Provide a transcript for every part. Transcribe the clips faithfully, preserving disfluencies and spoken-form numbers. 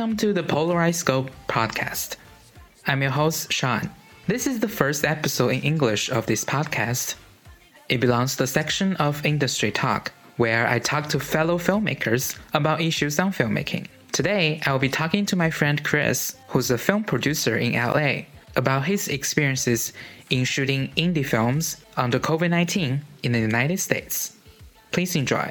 Welcome to the Polarized Scope podcast. I'm your host, Sean. This is the first episode in English of this podcast. It belongs to the section of Industry Talk, where I talk to fellow filmmakers about issues on filmmaking. Today, I will be talking to my friend Chris, who's a film producer in L A, about his experiences in shooting indie films under covid nineteen in the United States. Please enjoy.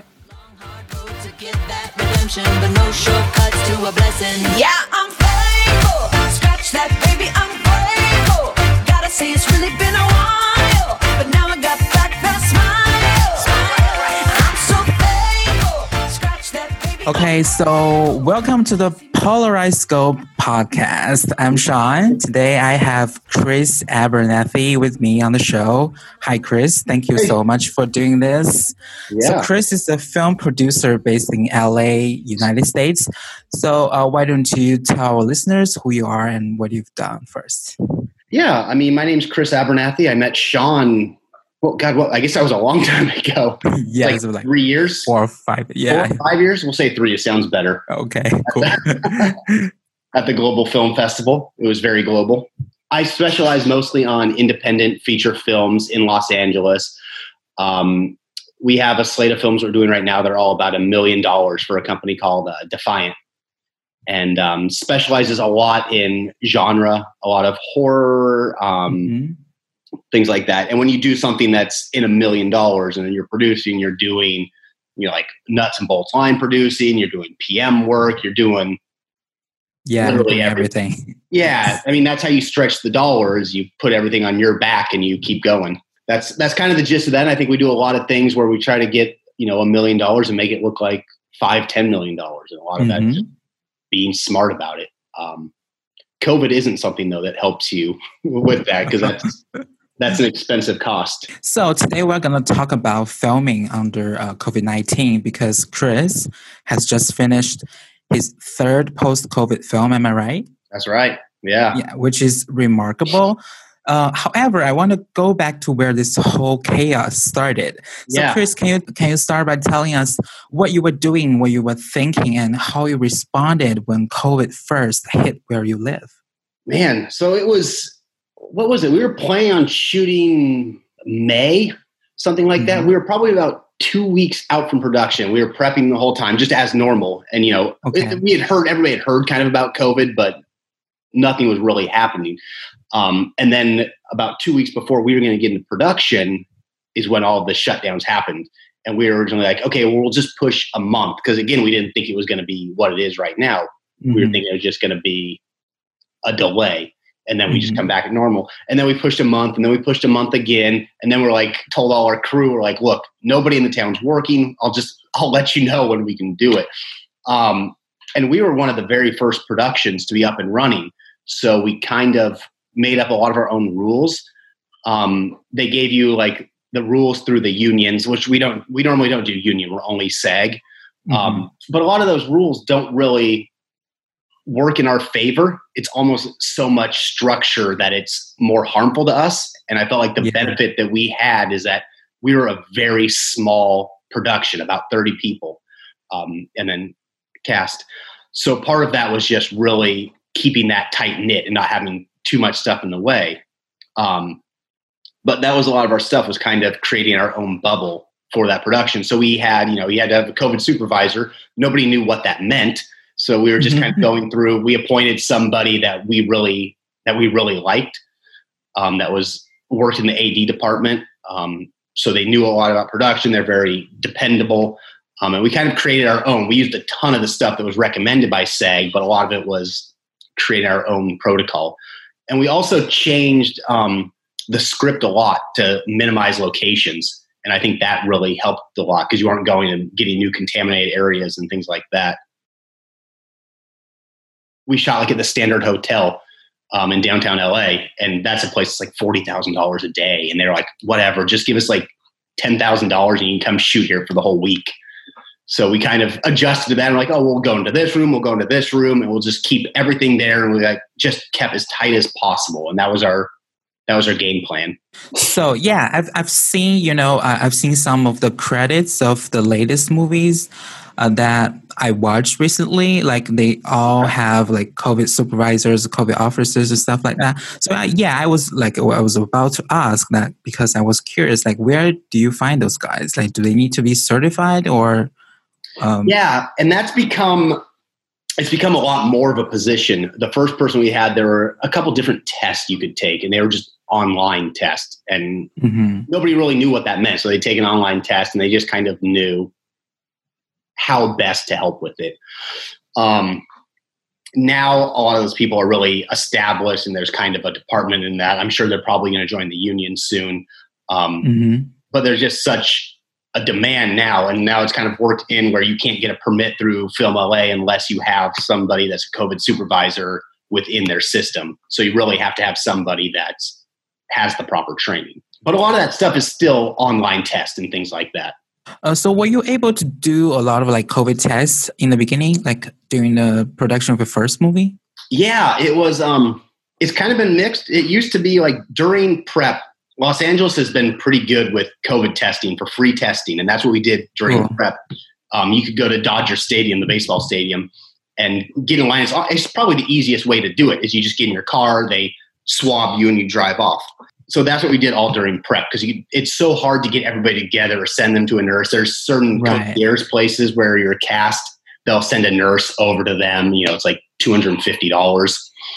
But no shortcuts to a blessing. Yeah, I'm faithful. Scratch that, baby, I'm grateful. Gotta say it's really been a while, but now I got back that smile. I'm so faithful. Scratch that, baby. Okay, so welcome to the Polarized Scope podcast. I'm Sean. Today I have Chris Abernathy with me on the show. Hi, Chris. Thank you so much for doing this. Yeah. So Chris is a film producer based in L A, United States. So uh, why don't you tell our listeners who you are and what you've done first? Yeah, I mean, my name's Chris Abernathy. I met Sean, well, God, well, I guess that was a long time ago. yeah, like, it was like three years? Four or five. Yeah. Four or five years? We'll say three. It sounds better. Okay, cool. At the Global Film Festival. It was very global. I specialize mostly on independent feature films in Los Angeles. Um, we have a slate of films we're doing right now that are all about a million dollars for a company called uh, Defiant. And um, specializes a lot in genre, a lot of horror, um, mm-hmm. things like that. And when you do something that's in a million dollars and then you're producing, you're doing, you know, like nuts and bolts line producing, you're doing P M work, you're doing yeah, literally everything. everything. Yeah. I mean, that's how you stretch the dollars. You put everything on your back and you keep going. That's, that's kind of the gist of that. And I think we do a lot of things where we try to get, you know, a million dollars and make it look like five, ten million dollars. And a lot of mm-hmm. that is being smart about it. Um, COVID isn't something though that helps you with that because that's, that's an expensive cost. So today we're going to talk about filming under uh, covid nineteen because Chris has just finished his third post-COVID film. Am I right? That's right. Yeah. Yeah, which is remarkable. Uh, however, I want to go back to where this whole chaos started. So, yeah. Chris, can you can you start by telling us what you were doing, what you were thinking, and how you responded when COVID first hit where you live? Man, so it was, what was it? We were planning on shooting May, something like mm-hmm. that. We were probably about two weeks out from production. We were prepping the whole time, just as normal. And, you know, okay. it, we had heard, everybody had heard kind of about COVID, but nothing was really happening. Um, and then about two weeks before we were going to get into production is when all of the shutdowns happened. And we were originally like, okay, well, we'll just push a month. Because again, we didn't think it was going to be what it is right now. Mm-hmm. We were thinking it was just going to be a delay. And then we mm-hmm. just come back at normal. And then we pushed a month and then we pushed a month again. And then we're like, told all our crew, we're like, look, nobody in the town's working. I'll just, I'll let you know when we can do it. Um, and we were one of the very first productions to be up and running. So we kind of made up a lot of our own rules. Um, they gave you like the rules through the unions, which we don't, we normally don't do union. We're only SAG. Mm-hmm. Um, but a lot of those rules don't really work in our favor. It's almost so much structure that it's more harmful to us. And I felt like the yeah. benefit that we had is that we were a very small production, about thirty people, um, and then cast. So part of that was just really keeping that tight knit and not having too much stuff in the way. Um, but that was a lot of our stuff was kind of creating our own bubble for that production. So we had, you know, we had to have a COVID supervisor. Nobody knew what that meant. So we were just kind of going through, we appointed somebody that we really, that we really liked, um, that was worked in the A D department. Um, so they knew a lot about production. They're very dependable. Um, and we kind of created our own. We used a ton of the stuff that was recommended by SAG, but a lot of it was creating our own protocol. And we also changed um, the script a lot to minimize locations. And I think that really helped a lot because you aren't going and getting new contaminated areas and things like that. We shot like at the Standard Hotel um, in downtown L A. And that's a place that's like forty thousand dollars a day. And they're like, whatever, just give us like ten thousand dollars and you can come shoot here for the whole week. So we kind of adjusted to that. And like, oh, we'll go into this room, we'll go into this room, and we'll just keep everything there. And we like just kept as tight as possible. And that was our, that was our game plan. So yeah, I've I've seen, you know, I've seen some of the credits of the latest movies uh, that I watched recently, like they all have like COVID supervisors, COVID officers and stuff like that. So uh, yeah, I was like, I was about to ask that because I was curious, like where do you find those guys? Like, do they need to be certified or? Um, yeah. And that's become, it's become a lot more of a position. The first person we had, there were a couple different tests you could take, and they were just online tests, and mm-hmm. nobody really knew what that meant. So they take an online test and they just kind of knew how best to help with it. Um, now a lot of those people are really established, and there's kind of a department in that. I'm sure they're probably going to join the union soon. Um, mm-hmm. But there's just such a demand now, and now it's kind of worked in where you can't get a permit through Film L A unless you have somebody that's a COVID supervisor within their system. So you really have to have somebody that has the proper training. But a lot of that stuff is still online tests and things like that. Uh, so were you able to do a lot of like COVID tests in the beginning, like during the production of the first movie? Yeah, it was, um, it's kind of been mixed. It used to be like during prep, Los Angeles has been pretty good with COVID testing for free testing. And that's what we did during oh. prep. Um, you could go to Dodger Stadium, the baseball stadium, and get in line. It's, it's probably the easiest way to do it is you just get in your car, they swab you and you drive off. So that's what we did all during prep, because it's so hard to get everybody together or send them to a nurse. There's certain right. concierge places where you're cast, they'll send a nurse over to them. You know, it's like two hundred fifty dollars.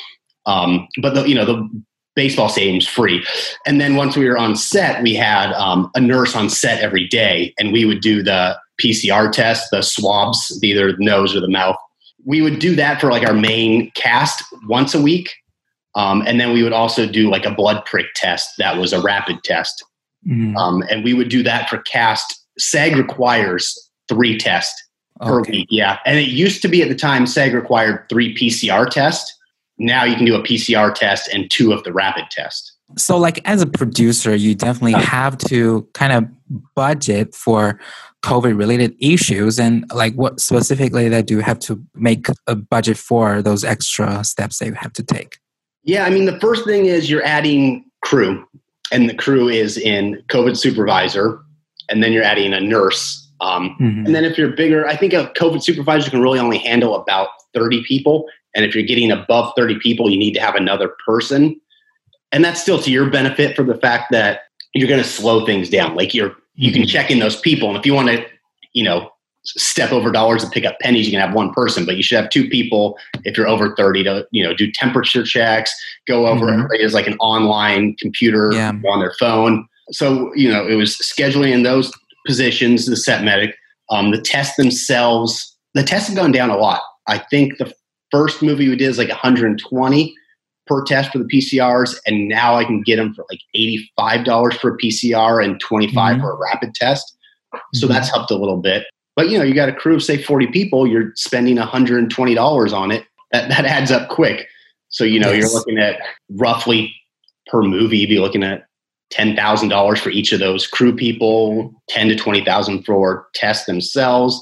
Um, but, the, you know, the baseball stadium's free. And then once we were on set, we had um, a nurse on set every day, and we would do the P C R test, the swabs, either the nose or the mouth. We would do that for like our main cast once a week. Um, and then we would also do like a blood prick test that was a rapid test. Mm. Um, and we would do that for cast. SAG requires three tests okay. per week. Yeah. And it used to be at the time SAG required three P C R tests. Now you can do a P C R test and two of the rapid test. So like as a producer, you definitely have to kind of budget for COVID related issues, and like what specifically that do you have to make a budget for those extra steps that you have to take? Yeah, I mean, the first thing is you're adding crew, and the crew is in COVID supervisor, and then you're adding a nurse. Um, mm-hmm. And then if you're bigger, I think a COVID supervisor can really only handle about thirty people. And if you're getting above thirty people, you need to have another person. And that's still to your benefit for the fact that you're going to slow things down. Like you're, you can check in those people. And if you want to, you know, step over dollars and pick up pennies, you can have one person, but you should have two people if you're over thirty to, you know, do temperature checks, go over, mm-hmm. everybody has like an online computer yeah. on their phone. So, you know, it was scheduling in those positions, the set medic, um, the tests themselves, the tests have gone down a lot. I think the first movie we did is like one hundred twenty per test for the P C Rs. And now I can get them for like eighty-five dollars for a P C R and twenty-five dollars mm-hmm. for a rapid test. So mm-hmm. that's helped a little bit. But, you know, you got a crew of, say, forty people, you're spending one hundred twenty dollars on it. That that adds up quick. So, you know, yes. you're looking at roughly per movie, you'd be looking at ten thousand dollars for each of those crew people, ten to twenty thousand dollars for tests themselves.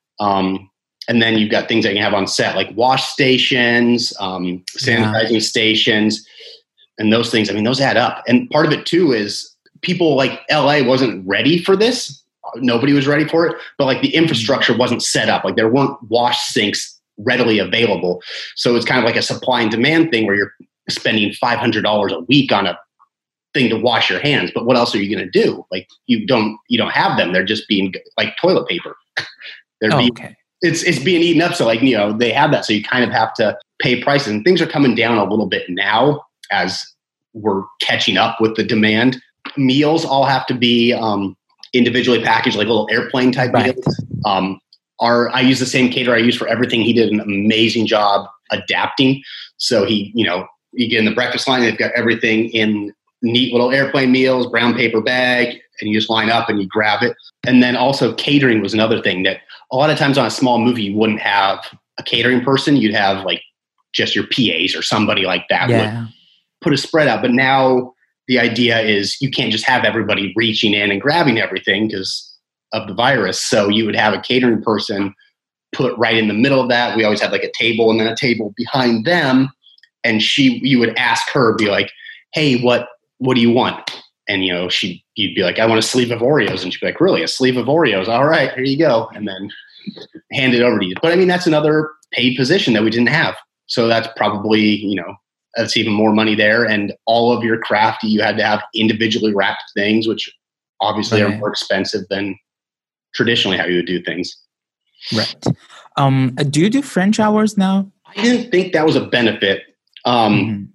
Um, and then you've got things that you have on set, like wash stations, um, sanitizing yeah. stations, and those things. I mean, those add up. And part of it, too, is people like L A wasn't ready for this. Nobody was ready for it, but like the infrastructure wasn't set up. Like there weren't wash sinks readily available. So it's kind of like a supply and demand thing where you're spending five hundred dollars a week on a thing to wash your hands. But what else are you going to do? Like you don't, you don't have them. They're just being like toilet paper. They're oh, being, okay. it's, it's being eaten up. So like, you know, they have that. So you kind of have to pay prices, and things are coming down a little bit now as we're catching up with the demand. Meals all have to be, um, individually packaged, like little airplane type right. meals. Um, our, I use the same caterer I use for everything. He did an amazing job adapting. So he, you know, you get in the breakfast line, they've got everything in neat little airplane meals, brown paper bag, and you just line up and you grab it. And then also catering was another thing that a lot of times on a small movie, you wouldn't have a catering person. You'd have like just your P As or somebody like that yeah. would put a spread out. But now the idea is you can't just have everybody reaching in and grabbing everything because of the virus. So you would have a catering person put right in the middle of that. We always had like a table and then a table behind them. And she, you would ask her, be like, hey, what, what do you want? And, you know, she, you'd be like, I want a sleeve of Oreos. And she'd be like, really? A sleeve of Oreos? All right, here you go. And then hand it over to you. But I mean, that's another paid position that we didn't have. So that's probably, you know, that's even more money there. And all of your craft, you had to have individually wrapped things, which obviously Right. are more expensive than traditionally how you would do things. Right. Um, do you do French hours now? I didn't think that was a benefit. Um, Mhm.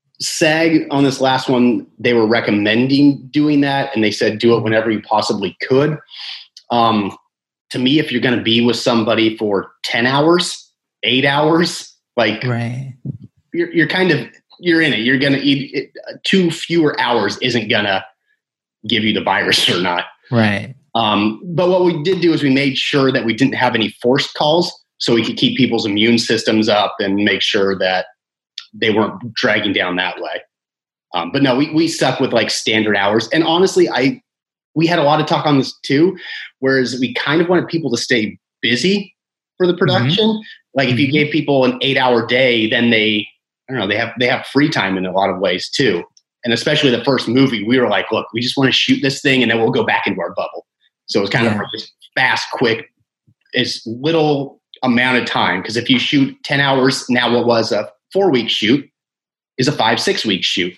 SAG on this last one, they were recommending doing that, and they said do it whenever you possibly could. Um, to me, if you're going to be with somebody for ten hours, eight hours, like Right. you're, you're kind of, you're in it. You're going to eat it, two fewer hours isn't going to give you the virus or not. Right. Um, but what we did do is we made sure that we didn't have any forced calls so we could keep people's immune systems up and make sure that they weren't dragging down that way. Um, but no, we, we stuck with like standard hours. And honestly, I, we had a lot of talk on this too, whereas we kind of wanted people to stay busy for the production. Mm-hmm. Like if you gave people an eight hour day, then they, I don't know, they have, they have free time in a lot of ways too. And especially the first movie, we were like, look, we just want to shoot this thing and then we'll go back into our bubble. So it's kind yeah. of like just fast, quick, as little amount of time. Because if you shoot ten hours, now what was a four week shoot is a five, six week shoot.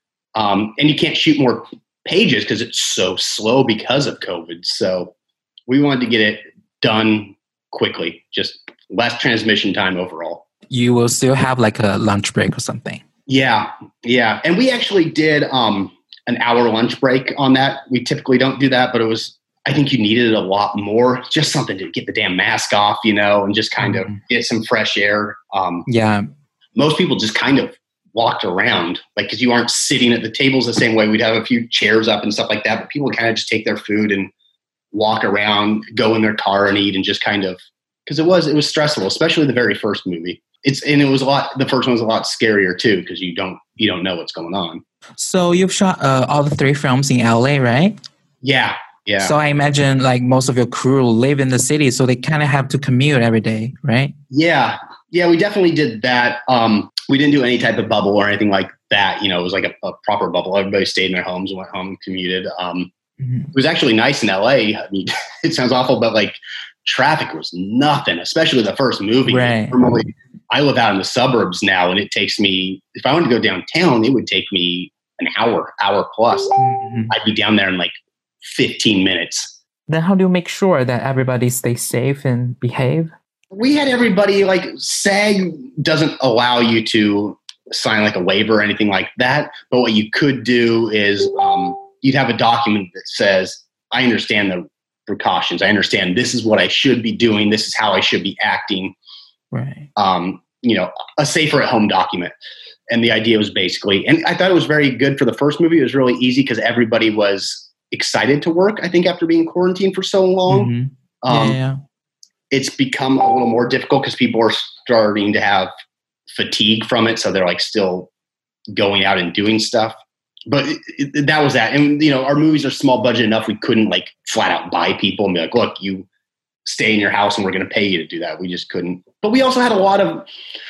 Um, and you can't shoot more pages because it's so slow because of COVID. So we wanted to get it done quickly, just less transmission time overall. You will still have like a lunch break or something. Yeah. Yeah. And we actually did um, an hour lunch break on that. We typically don't do that, but it was, I think you needed it a lot more, just something to get the damn mask off, you know, and just kind mm-hmm. of get some fresh air. Um, yeah. Most people just kind of walked around, like, because you aren't sitting at the tables the same way. We'd have a few chairs up and stuff like that, but people kind of just take their food and walk around, go in their car and eat, and just kind of, because it was, it was stressful, especially the very first movie. It's, and it was a lot, the first one was a lot scarier too, because you don't, you don't know what's going on. So you've shot uh, all the three films in L A, right? Yeah. Yeah. So I imagine like most of your crew live in the city, so they kind of have to commute every day, right? Yeah. Yeah, we definitely did that. Um, we didn't do any type of bubble or anything like that. You know, it was like a, a proper bubble. Everybody stayed in their homes and went home and commuted. Um, mm-hmm. It was actually nice in L A. I mean, it sounds awful, but like traffic was nothing, especially the first movie. Right. Normally, I live out in the suburbs now, and it takes me, if I wanted to go downtown, it would take me an hour, hour plus. Mm-hmm. I'd be down there in like fifteen minutes. Then how do you make sure that everybody stays safe and behave? We had everybody, like, SAG doesn't allow you to sign like a waiver or anything like that. But what you could do is um, you'd have a document that says, I understand the precautions. I understand this is what I should be doing. This is how I should be acting. Right. Um, you know, a safer at home document. And the idea was basically, and I thought it was very good for the first movie. It was really easy because everybody was excited to work, I think, after being quarantined for so long. Mm-hmm. Um, yeah, yeah. It's become a little more difficult because people are starting to have fatigue from it. So they're like still going out and doing stuff. But it, it, that was that. And, you know, our movies are small budget enough. We couldn't like flat out buy people and be like, look, you stay in your house and we're going to pay you to do that. We just couldn't. But we also had a lot of,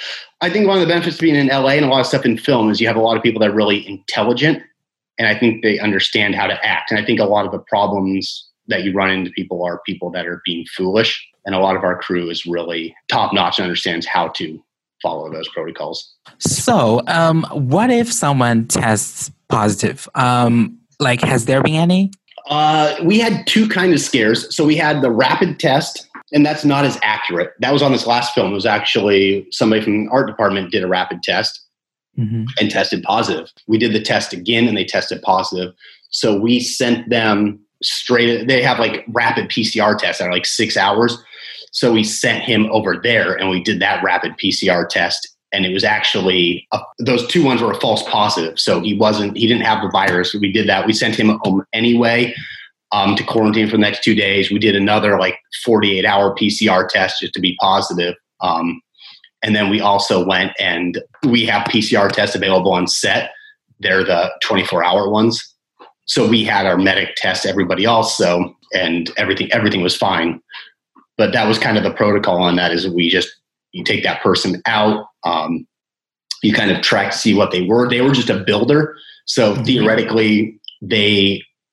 I think one of the benefits of being in L A and a lot of stuff in film is you have a lot of people that are really intelligent. And I think they understand how to act. And I think a lot of the problems that you run into people are people that are being foolish. And a lot of our crew is really top notch and understands how to follow those protocols. So um, what if someone tests positive? Um, like, has there been any? Uh, we had two kind of scares. So we had the rapid test, and that's not as accurate. That was on this last film. It was actually somebody from the art department did a rapid test mm-hmm. and tested positive. We did the test again, and they tested positive. So we sent them straight. They have like rapid P C R tests that are like six hours. So we sent him over there, and we did that rapid P C R test. And it was actually, a, those two ones were a false positive. So he wasn't, he didn't have the virus. We did that. We sent him home anyway um, to quarantine for the next two days. We did another like forty-eight hour P C R test just to be positive. Um, and then we also went and we have P C R tests available on set. They're the twenty-four hour ones. So we had our medic test everybody else. So, and everything, everything was fine. But that was kind of the protocol on that is we just, you take that person out. Um, you kind of track to see what they were. They were just a builder. So mm-hmm. theoretically, they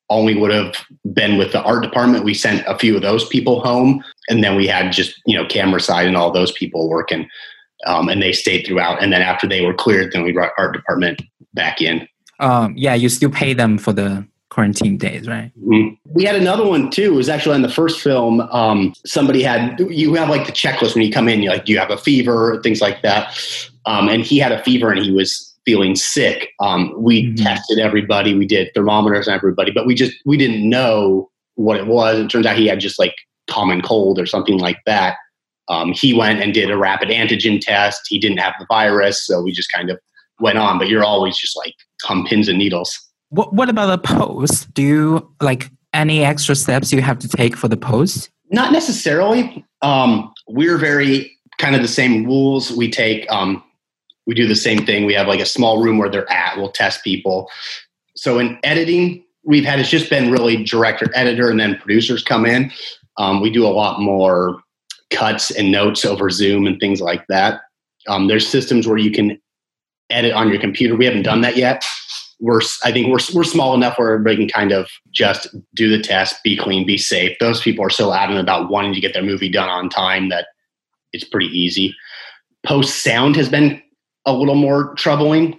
only would have been with the art department. We sent a few of those people home, and then we had just, you know, camera side and all those people working, um, and they stayed throughout. And then after they were cleared, then we brought art department back in. Um, yeah, you still pay them for the quarantine days, right? Mm-hmm. We had another one too. It was actually on the first film. Um, somebody had, you have like the checklist when you come in, you're like, do you have a fever? Things like that. Um, and he had a fever and he was feeling sick. Um, we mm-hmm. tested everybody. We did thermometers on everybody, but we just, we didn't know what it was. It turns out he had just like common cold or something like that. Um, he went and did a rapid antigen test. He didn't have the virus. So we just kind of went on, but you're always just like on pins and needles. What What about the post? Do you like any extra steps you have to take for the post? Not necessarily. Um, we're very kind of the same rules. We take, um, we do the same thing. We have like a small room where they're at. We'll test people. So in editing, we've had, it's just been really director, editor, and then producers come in. Um, we do a lot more cuts and notes over Zoom and things like that. Um, there's systems where you can edit on your computer. We haven't done that yet. We're, I think we're we're small enough where everybody can kind of just do the test, be clean, be safe. Those people are so adamant about wanting to get their movie done on time that it's pretty easy. Post sound has been a little more troubling.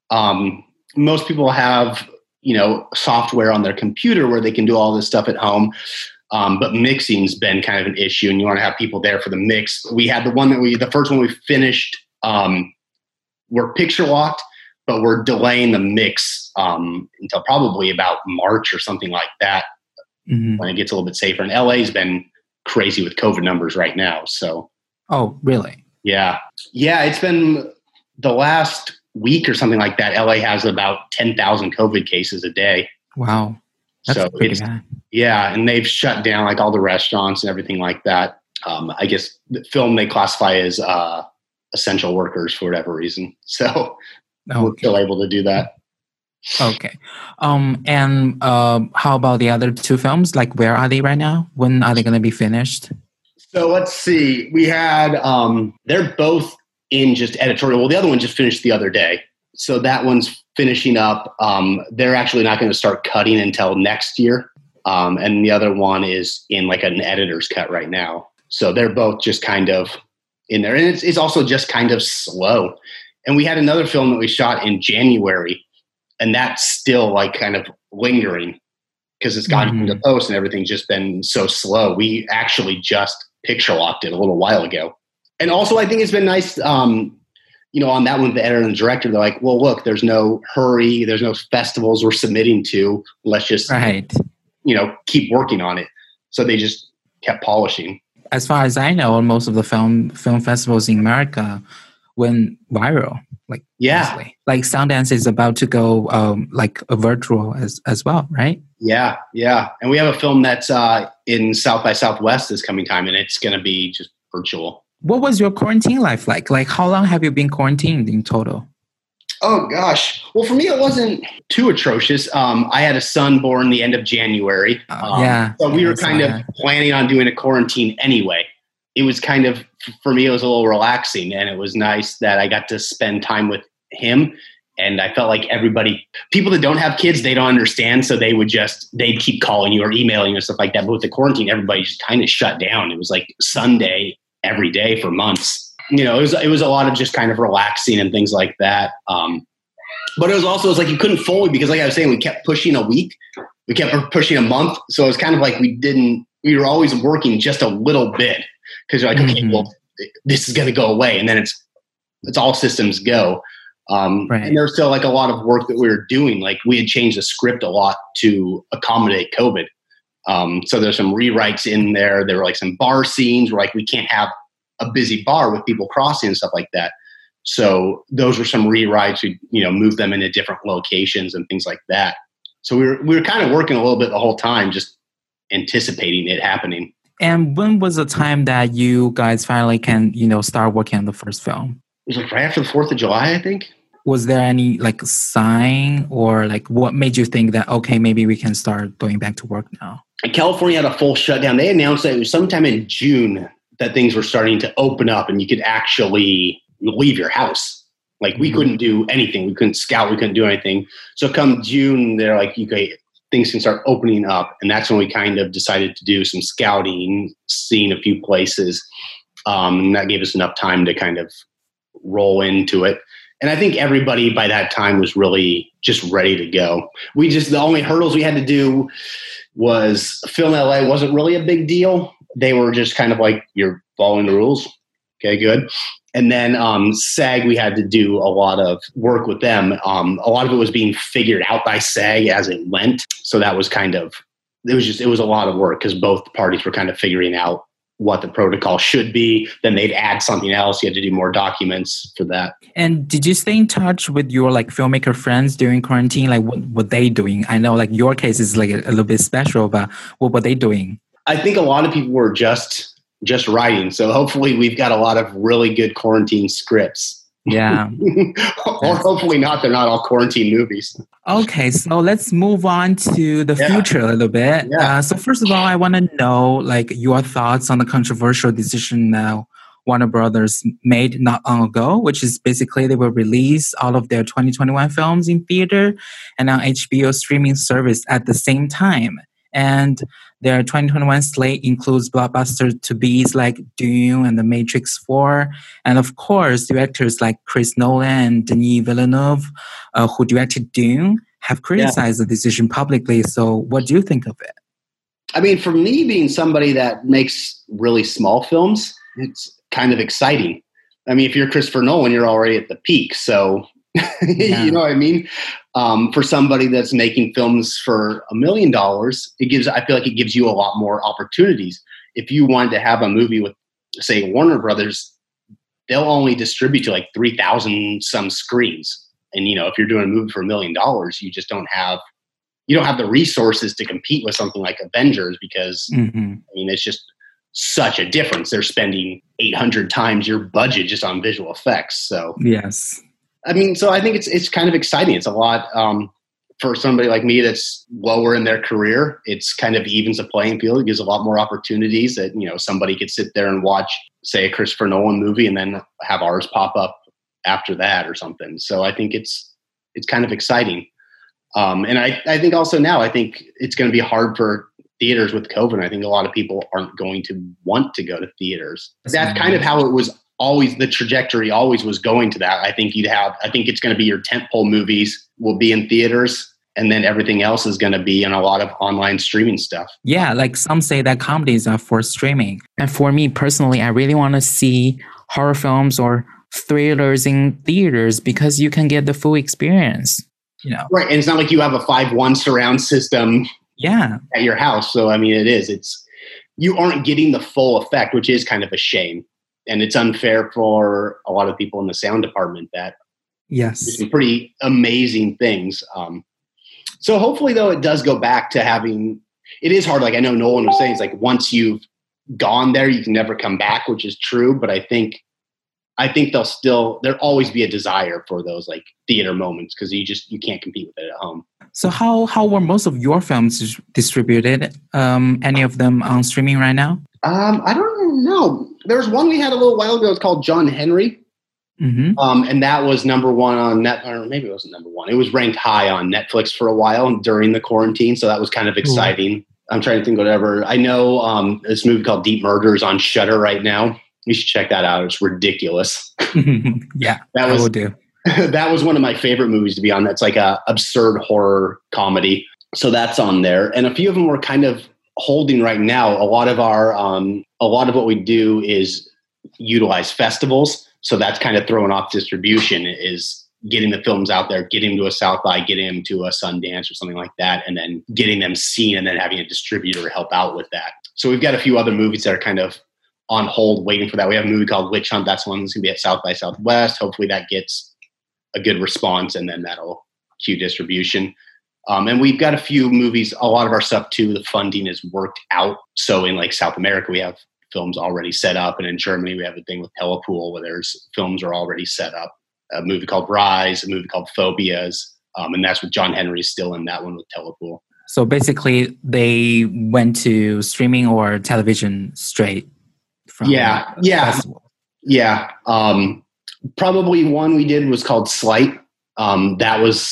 Um, most people have, you know, software on their computer where they can do all this stuff at home. Um, but mixing's been kind of an issue, and you want to have people there for the mix. We had the one that we, the first one we finished, um, we're picture locked, but we're delaying the mix um, until probably about March or something like that, mm-hmm. when it gets a little bit safer. And L A's been crazy with COVID numbers right now. So, oh, really? Yeah, yeah. It's been the last week or something like that. L A has about ten thousand COVID cases a day. Wow, that's so pretty it's, bad. Yeah, and they've shut down like all the restaurants and everything like that. Um, I guess the film they classify as uh, essential workers for whatever reason. So. Okay. We're still able to do that. Okay. Um, and uh, how about the other two films? Like, where are they right now? When are they going to be finished? So let's see. We had, um, they're both in just editorial. Well, the other one just finished the other day. So that one's finishing up. Um, they're actually not going to start cutting until next year. Um, and the other one is in like an editor's cut right now. So they're both just kind of in there. And it's, it's also just kind of slow. And we had another film that we shot in January, and that's still like kind of lingering because it's gotten mm-hmm. into post and everything's just been so slow. We actually just picture locked it a little while ago. And also I think it's been nice, um, you know, on that one, the editor and the director, they're like, well, look, there's no hurry. There's no festivals we're submitting to. Let's just, right. you know, keep working on it. So they just kept polishing. As far as I know, most of the film film festivals in America went viral, like yeah, mostly. Like Sundance is about to go um, like a virtual as as well, right? Yeah, yeah, and we have a film that's uh, in South by Southwest this coming time, and it's going to be just virtual. What was your quarantine life like? Like, how long have you been quarantined in total? Oh gosh, well, for me it wasn't too atrocious. Um, I had a son born the end of January, uh, um, yeah, so we yeah, were kind of that. planning on doing a quarantine anyway. It was kind of, for me, it was a little relaxing, and it was nice that I got to spend time with him. And I felt like everybody, people that don't have kids, they don't understand. So they would just, they'd keep calling you or emailing you and stuff like that. But with the quarantine, everybody just kind of shut down. It was like Sunday every day for months. You know, it was, it was a lot of just kind of relaxing and things like that. Um, but it was also, it was like you couldn't fully, because like I was saying, we kept pushing a week. We kept pushing a month. So it was kind of like we didn't, we were always working just a little bit. Because you're like, okay, mm-hmm. well, this is going to go away, and then it's it's all systems go. Um, right. And there's still like a lot of work that we were doing. Like we had changed the script a lot to accommodate COVID. Um, so there's some rewrites in there. There were like some bar scenes where like we can't have a busy bar with people crossing and stuff like that. So those were some rewrites. We you know moved them into different locations and things like that. So we were we were kind of working a little bit the whole time, just anticipating it happening. And when was the time that you guys finally can, you know, start working on the first film? It was like right after the fourth of July, I think. Was there any like sign or like what made you think that, okay, maybe we can start going back to work now? California had a full shutdown. They announced that it was sometime in June that things were starting to open up and you could actually leave your house. Like we mm-hmm. couldn't do anything. We couldn't scout. We couldn't do anything. So come June, they're like, okay, things can start opening up. And that's when we kind of decided to do some scouting, seeing a few places. Um, and that gave us enough time to kind of roll into it. And I think everybody by that time was really just ready to go. We just, the only hurdles we had to do was Film L A wasn't really a big deal. They were just kind of like, you're following the rules. Okay, good. And then um, SAG, we had to do a lot of work with them. Um, a lot of it was being figured out by SAG as it went. So that was kind of, it was just, it was a lot of work because both parties were kind of figuring out what the protocol should be. Then they'd add something else. You had to do more documents for that. And did you stay in touch with your like filmmaker friends during quarantine? Like what were they doing? I know like your case is like a, a little bit special, but what were they doing? I think a lot of people were just just writing. So hopefully we've got a lot of really good quarantine scripts. Yeah. Or hopefully not. They're not all quarantine movies. Okay, so let's move on to the Yeah. future a little bit. Yeah. Uh, so first of all, I want to know like your thoughts on the controversial decision now Warner Brothers made not long ago, which is basically they will release all of their twenty twenty-one films in theater and on H B O streaming service at the same time. And their twenty twenty-one slate includes blockbuster to-bes like Dune and The Matrix four. And of course, directors like Chris Nolan and Denis Villeneuve, uh, who directed Dune, have criticized yeah. the decision publicly. So what do you think of it? I mean, for me, being somebody that makes really small films, it's kind of exciting. I mean, if you're Christopher Nolan, you're already at the peak. So, yeah. you know what I mean? Um, for somebody that's making films for a million dollars, it gives, I feel like it gives you a lot more opportunities. If you wanted to have a movie with, say, Warner Brothers, they'll only distribute to like three thousand some screens. And, you know, if you're doing a movie for a million dollars, you just don't have, you don't have the resources to compete with something like Avengers because, mm-hmm. I mean, it's just such a difference. They're spending eight hundred times your budget just on visual effects. So, yes. I mean, so I think it's it's kind of exciting. It's a lot um, for somebody like me that's lower in their career. It's kind of evens the playing field. It gives a lot more opportunities that, you know, somebody could sit there and watch, say, a Christopher Nolan movie and then have ours pop up after that or something. So I think it's it's kind of exciting. Um, and I, I think also now, I think it's going to be hard for theaters with COVID. I think a lot of people aren't going to want to go to theaters. That's kind of how it was always, the trajectory always was going to that. I think you'd have, I think it's going to be your tentpole movies will be in theaters and then everything else is going to be in a lot of online streaming stuff. Yeah, like some say that comedies are for streaming. And for me personally, I really want to see horror films or thrillers in theaters because you can get the full experience. You know. Right. And it's not like you have a five one surround system yeah. at your house. So, I mean, it is. It's you aren't getting the full effect, which is kind of a shame. And it's unfair for a lot of people in the sound department that yes, do some pretty amazing things. Um, so hopefully, though, it does go back to having – it is hard. Like I know Nolan was saying, it's like once you've gone there, you can never come back, which is true. But I think – I think they'll still, there'll always be a desire for those like theater moments because you just, you can't compete with it at home. So how, how were most of your films distributed? Um, any of them on streaming right now? Um, I don't know. There's one we had a little while ago. It's called John Henry. Mm-hmm. Um, and that was number one on Net, or maybe it wasn't number one. It was ranked high on Netflix for a while during the quarantine. So that was kind of exciting. Ooh. I'm trying to think whatever. I know um, this movie called Deep Murder is on Shudder right now. You should check that out. It's ridiculous. yeah, that was, I will do. That was one of my favorite movies to be on. That's like a absurd horror comedy. So that's on there. And a few of them we're kind of holding right now. A lot of our, um, a lot of what we do is utilize festivals. So that's kind of throwing off distribution is getting the films out there, getting them to a South by, getting them to a Sundance or something like that, and then getting them seen and then having a distributor help out with that. So we've got a few other movies that are kind of on hold waiting for that. We have a movie called Witch Hunt. That's one that's going to be at South by Southwest. Hopefully that gets a good response and then that'll cue distribution. Um, and we've got a few movies, a lot of our stuff too, the funding is worked out. So in like South America, we have films already set up. And in Germany, we have a thing with Telepool where there's films are already set up. A movie called Rise, a movie called Phobias. Um, and that's with John Henry still in that one with Telepool. So basically they went to streaming or television straight. From yeah, yeah, festival. yeah. Um, probably one we did was called Slight. Um, that was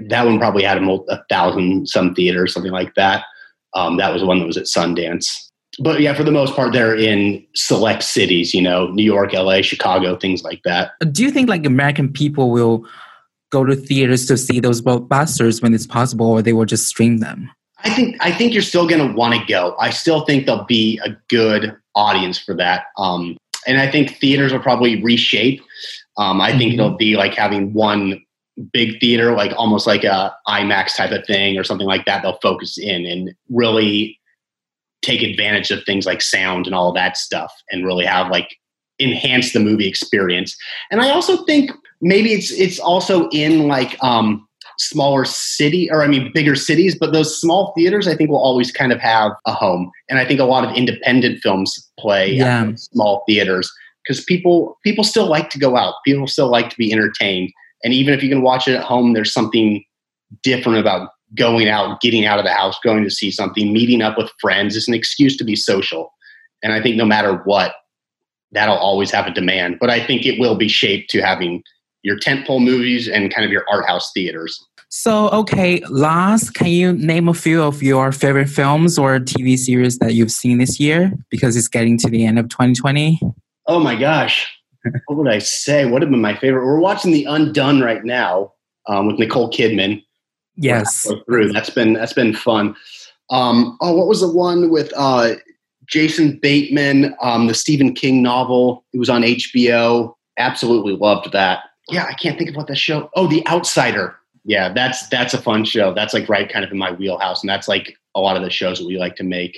that one probably had a, mul- a thousand some theaters, something like that. Um, that was the one that was at Sundance. But yeah, for the most part, they're in select cities, you know, New York, L A, Chicago, things like that. Do you think like American people will go to theaters to see those blockbusters when it's possible, or they will just stream them? I think I think you're still going to want to go. I still think there'll be a good audience for that. Um, and I think theaters will probably reshape. Um, I mm-hmm. think it'll be like having one big theater, like almost like a IMAX type of thing or something like that. They'll focus in and really take advantage of things like sound and all of that stuff and really have like enhance the movie experience. And I also think maybe it's it's also in like um, smaller city or I mean bigger cities, but those small theaters I think will always kind of have a home. And I think a lot of independent films play yeah. at small theaters because people people still like to go out. People still like to be entertained. And even if you can watch it at home, there's something different about going out, getting out of the house, going to see something, meeting up with friends. It's an excuse to be social. And I think no matter what, that'll always have a demand. But I think it will be shaped to having your tentpole movies and kind of your art house theaters. So, okay, last, can you name a few of your favorite films or T V series that you've seen this year? Because it's getting to the end of twenty twenty. Oh my gosh. What would I say? What have been my favorite? We're watching The Undone right now um, with Nicole Kidman. Yes. Through. That's been that's been fun. Um, oh, what was the one with uh, Jason Bateman, um, the Stephen King novel? It was on H B O. Absolutely loved that. Yeah, I can't think of what that show. Oh, The Outsider. Yeah, that's that's a fun show. That's like right kind of in my wheelhouse, and that's like a lot of the shows that we like to make.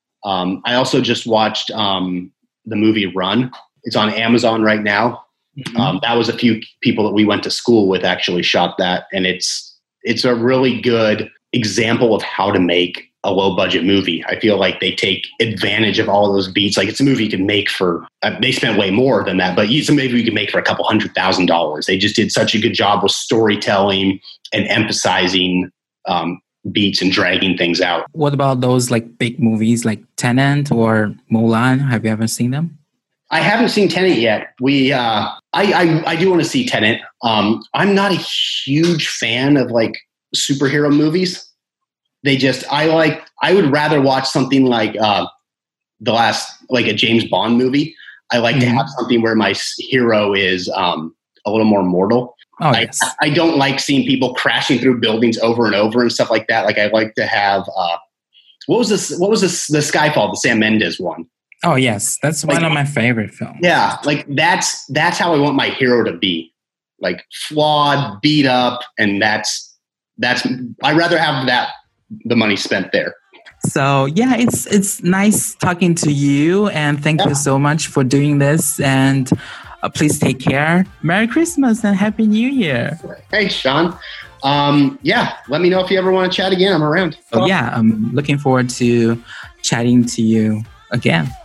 Um, I also just watched um, the movie Run. It's on Amazon right now. Mm-hmm. Um, that was a few people that we went to school with actually shot that, and it's it's a really good example of how to make a low budget movie. I feel like they take advantage of all of those beats. Like it's a movie you can make for, uh, they spent way more than that, but it's a movie you can make for a couple hundred thousand dollars. They just did such a good job with storytelling and emphasizing um, beats and dragging things out. What about those like big movies like Tenet or Mulan? Have you ever seen them? I haven't seen Tenet yet. We, uh, I, I, I do want to see Tenet. Um, I'm not a huge fan of like superhero movies. They just, I like, I would rather watch something like uh, the last, like a James Bond movie. I like mm-hmm. to have something where my hero is um, a little more mortal. Oh, I, yes. I don't like seeing people crashing through buildings over and over and stuff like that. Like I like to have, uh, what was this, what was this, the Skyfall, the Sam Mendes one? Oh yes, that's like, one of my favorite films. Yeah, like that's that's how I want my hero to be, like flawed, beat up, and that's that's. I'd rather have that the money spent there. So yeah, it's it's nice talking to you, and thank yeah. you so much for doing this. And uh, please take care. Merry Christmas and Happy New Year. Hey, Sean. Um, yeah, let me know if you ever want to chat again. I'm around. Oh yeah, I'm looking forward to chatting to you again.